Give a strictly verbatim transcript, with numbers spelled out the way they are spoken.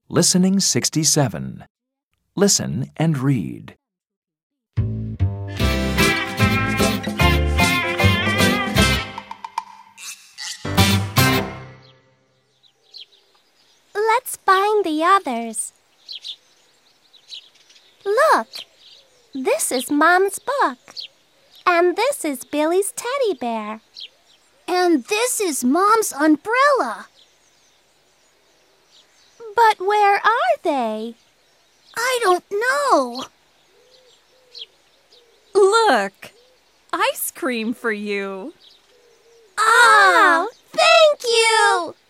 Listening sixty-seven. Listen and read. Let's find the others. Look, this is Mom's book. And this is Billy's teddy bear. And this is Mom's umbrella. But where are they? I don't know. Look, ice cream for you. Oh, thank you!